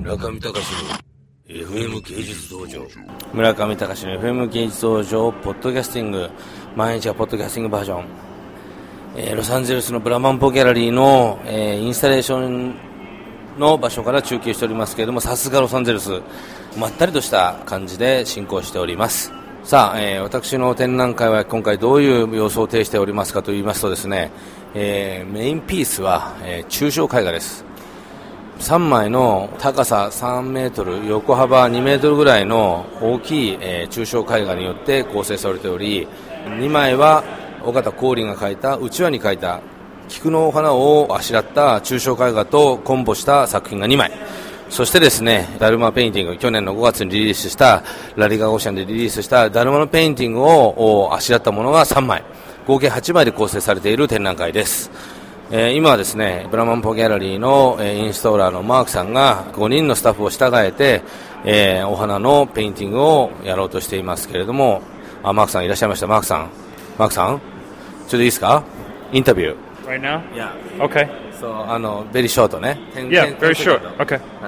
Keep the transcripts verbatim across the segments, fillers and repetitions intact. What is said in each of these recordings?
村上隆の エフエム 芸術道場。村上隆の エフエム 芸術道場ポッドキャスティング、毎日はポッドキャスティングバージョン、えー、ロサンゼルスのブラマンポギャラリーの、えー、インスタレーションの場所から中継しておりますけれども、さすがロサンゼルス、まったりとした感じで進行しております。さあ、えー、私の展覧会は今回どういう様相を呈しておりますかと言いますとですね、えー、メインピースは、えー、抽象絵画です。さんまいの高ささんメートル、横幅にメートルぐらいの大きい、えー、抽象絵画によって構成されており、にまいは尾形光琳が描いた、うちわに描いた菊の花をあしらった抽象絵画とコンボした作品がにまい、そしてですね、ダルマペインティング、去年のごがつにリリースしたラリガオーシャンでリリースしたダルマのペインティングをあしらったものがさんまい、合計はちまいで構成されている展覧会です。えー、今はですね、ブラマンポギャラリーの、えー、インストーラーのマークさんがごにんのスタッフを従えて、えー、お花のペインティングをやろうとしていますけれども、あ、マークさんいらっしゃいました。マークさんマークさんちょっといいですか、インタビュー Right now? Yeah. Okay. So, あの、very short ね。 Yeah, very short. Okay. はい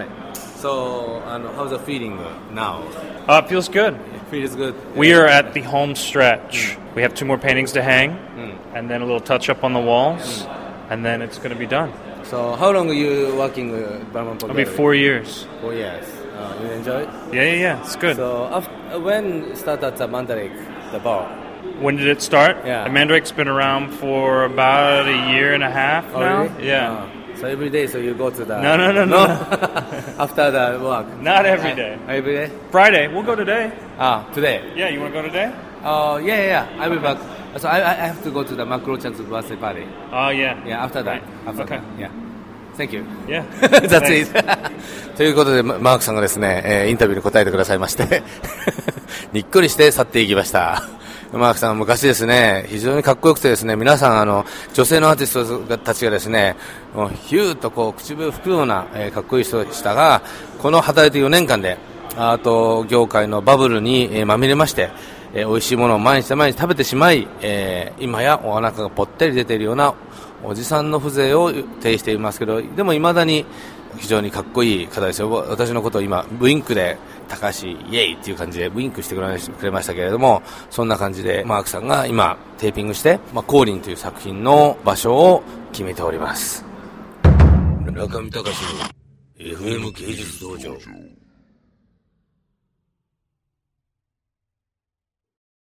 。So, あの、how's the feeling now? Uh, it feels good. It feels good. We are at the home stretch. We have two more paintings to hang, and then a little touch up on the walls, and then it's going to be done. So, how long are you working with Brahman Pogari? It'll be four years. Four years. Uh, you enjoy it? Yeah, yeah, yeah. It's good. So, after, when start at the Mandarake, the bar? When did it start? Yeah. The Mandrake's been around for about a year and a half Oh, now. really? Yeah. Uh, so every day, so you go to the... No, no, no, no. After the work? Not every day. Uh, every day? Friday. We'll go today. Ah, today? Yeah, you want to go today? Oh, yeah, yeah, yeah. I will back. So I, I have to go to the Macro-chan's birthday party. Oh, yeah. Yeah, after that. Right. After Okay. that. Yeah. Thank you. Yeah. That's it. ということで、マークさんがですね、えー、インタビューに答えてくださいまして、にっこりして去っていきました。マークさんは昔ですね、非常にかっこよくてですね、皆さんあの女性のアーティストたちがですね、もうヒューッとこう口笛を吹くような、えー、かっこいい人でしたが、この働いてよねんかんでアート業界のバブルに、えー、まみれまして、えー、美味しいものを毎日毎日食べてしまい、えー、今やお腹がぽったり出ているようなおじさんの風情を呈していますけど、でも未だに非常にかっこいい方ですよ。私のことを今ウインクで高橋イエイっていう感じでウインクしてくれましたけれども、そんな感じでマークさんが今テーピングして、まあ、光琳という作品の場所を決めております。村上隆の エフエム 芸術道場。